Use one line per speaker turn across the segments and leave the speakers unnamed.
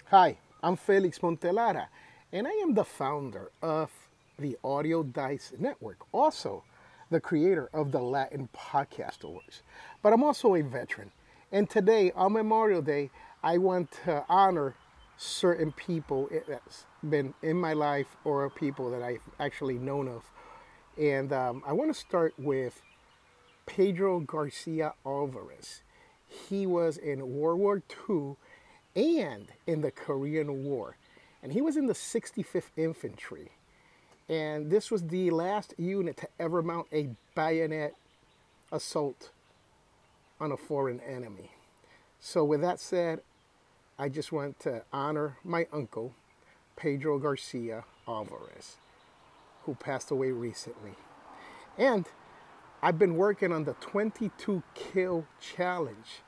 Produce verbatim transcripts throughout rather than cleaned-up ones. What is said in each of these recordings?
Hi, I'm Felix Montelara, and I am the founder of the Audio Dice Network, also the creator of the Latin Podcast Awards. But I'm also a veteran, and today, on Memorial Day, I want to honor certain people that's been in my life or people that I've actually known of. And um, I want to start with Pedro Garcia Alvarez. He was in World War Two and in the Korean War. And he was in the sixty-fifth Infantry. And this was the last unit to ever mount a bayonet assault on a foreign enemy. So with that said, I just want to honor my uncle, Pedro Garcia Alvarez, who passed away recently. And I've been working on the twenty-two kill challenge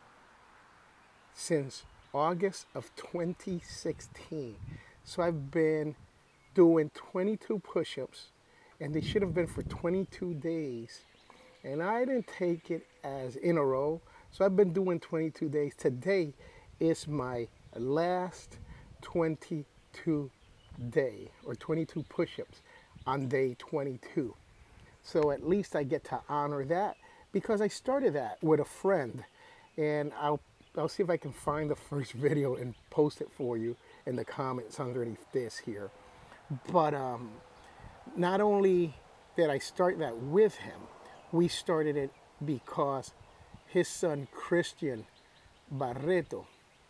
since August of twenty sixteen. So I've been doing twenty-two push-ups, and they should have been for twenty-two days. And I didn't take it as in a row. So I've been doing twenty-two days. Today is my last twenty-two day or twenty-two push-ups on day twenty-two. So at least I get to honor that because I started that with a friend, and I'll I'll see if I can find the first video and post it for you in the comments underneath this here. But um, not only did I start that with him, we started it because his son Christian Barreto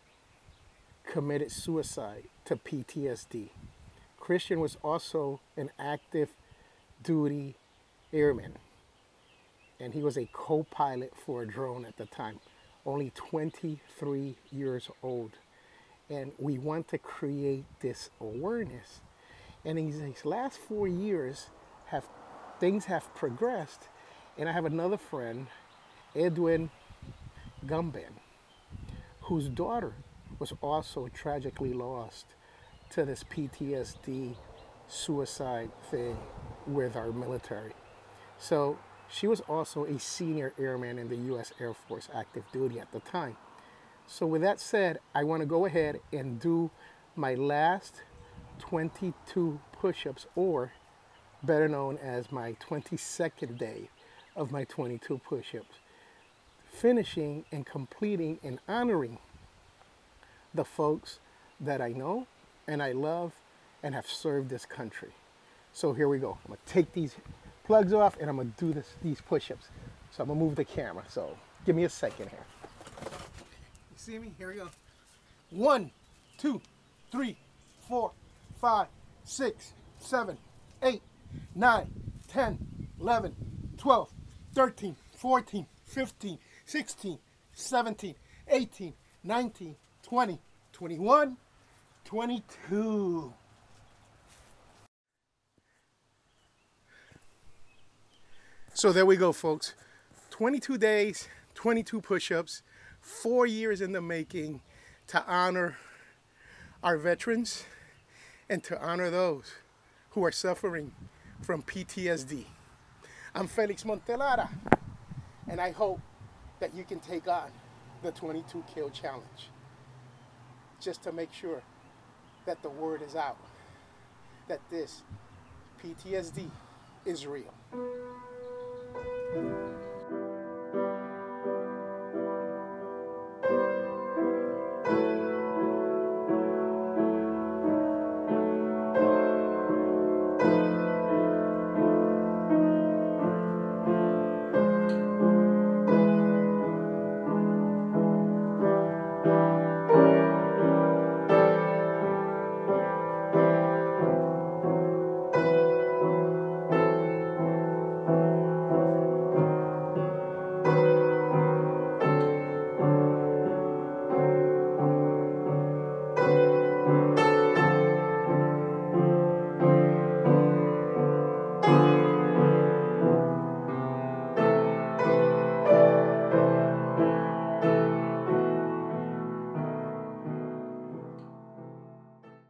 committed suicide to P T S D. Christian was also an active duty airman, and he was a co-pilot for a drone at the time, only twenty-three years old. And we want to create this awareness. And in these last four years, have things have progressed. And I have another friend, Edwin Gumben, whose daughter was also tragically lost to this P T S D suicide thing with our military. So she was also a senior airman in the U S Air Force active duty at the time. So with that said, I want to go ahead and do my last twenty-two push-ups, or better known as my twenty-second day of my twenty-two push-ups, finishing and completing and honoring the folks that I know and I love and have served this country. So here we go. I'm going to take these plugs off and I'm going to do this, these push-ups. So I'm going to move the camera. So give me a second here. You see me? Here we go. One, two, three, four, five, six, seven, eight, nine, ten, eleven, twelve, thirteen, fourteen, fifteen, sixteen, seventeen, eighteen, nineteen, twenty, twenty-one, twenty-two. So there we go, folks. twenty-two days, twenty-two push-ups, four years in the making to honor our veterans and to honor those who are suffering from P T S D. I'm Felix Montelara, and I hope that you can take on the twenty-two kill challenge just to make sure that the word is out that this P T S D is real.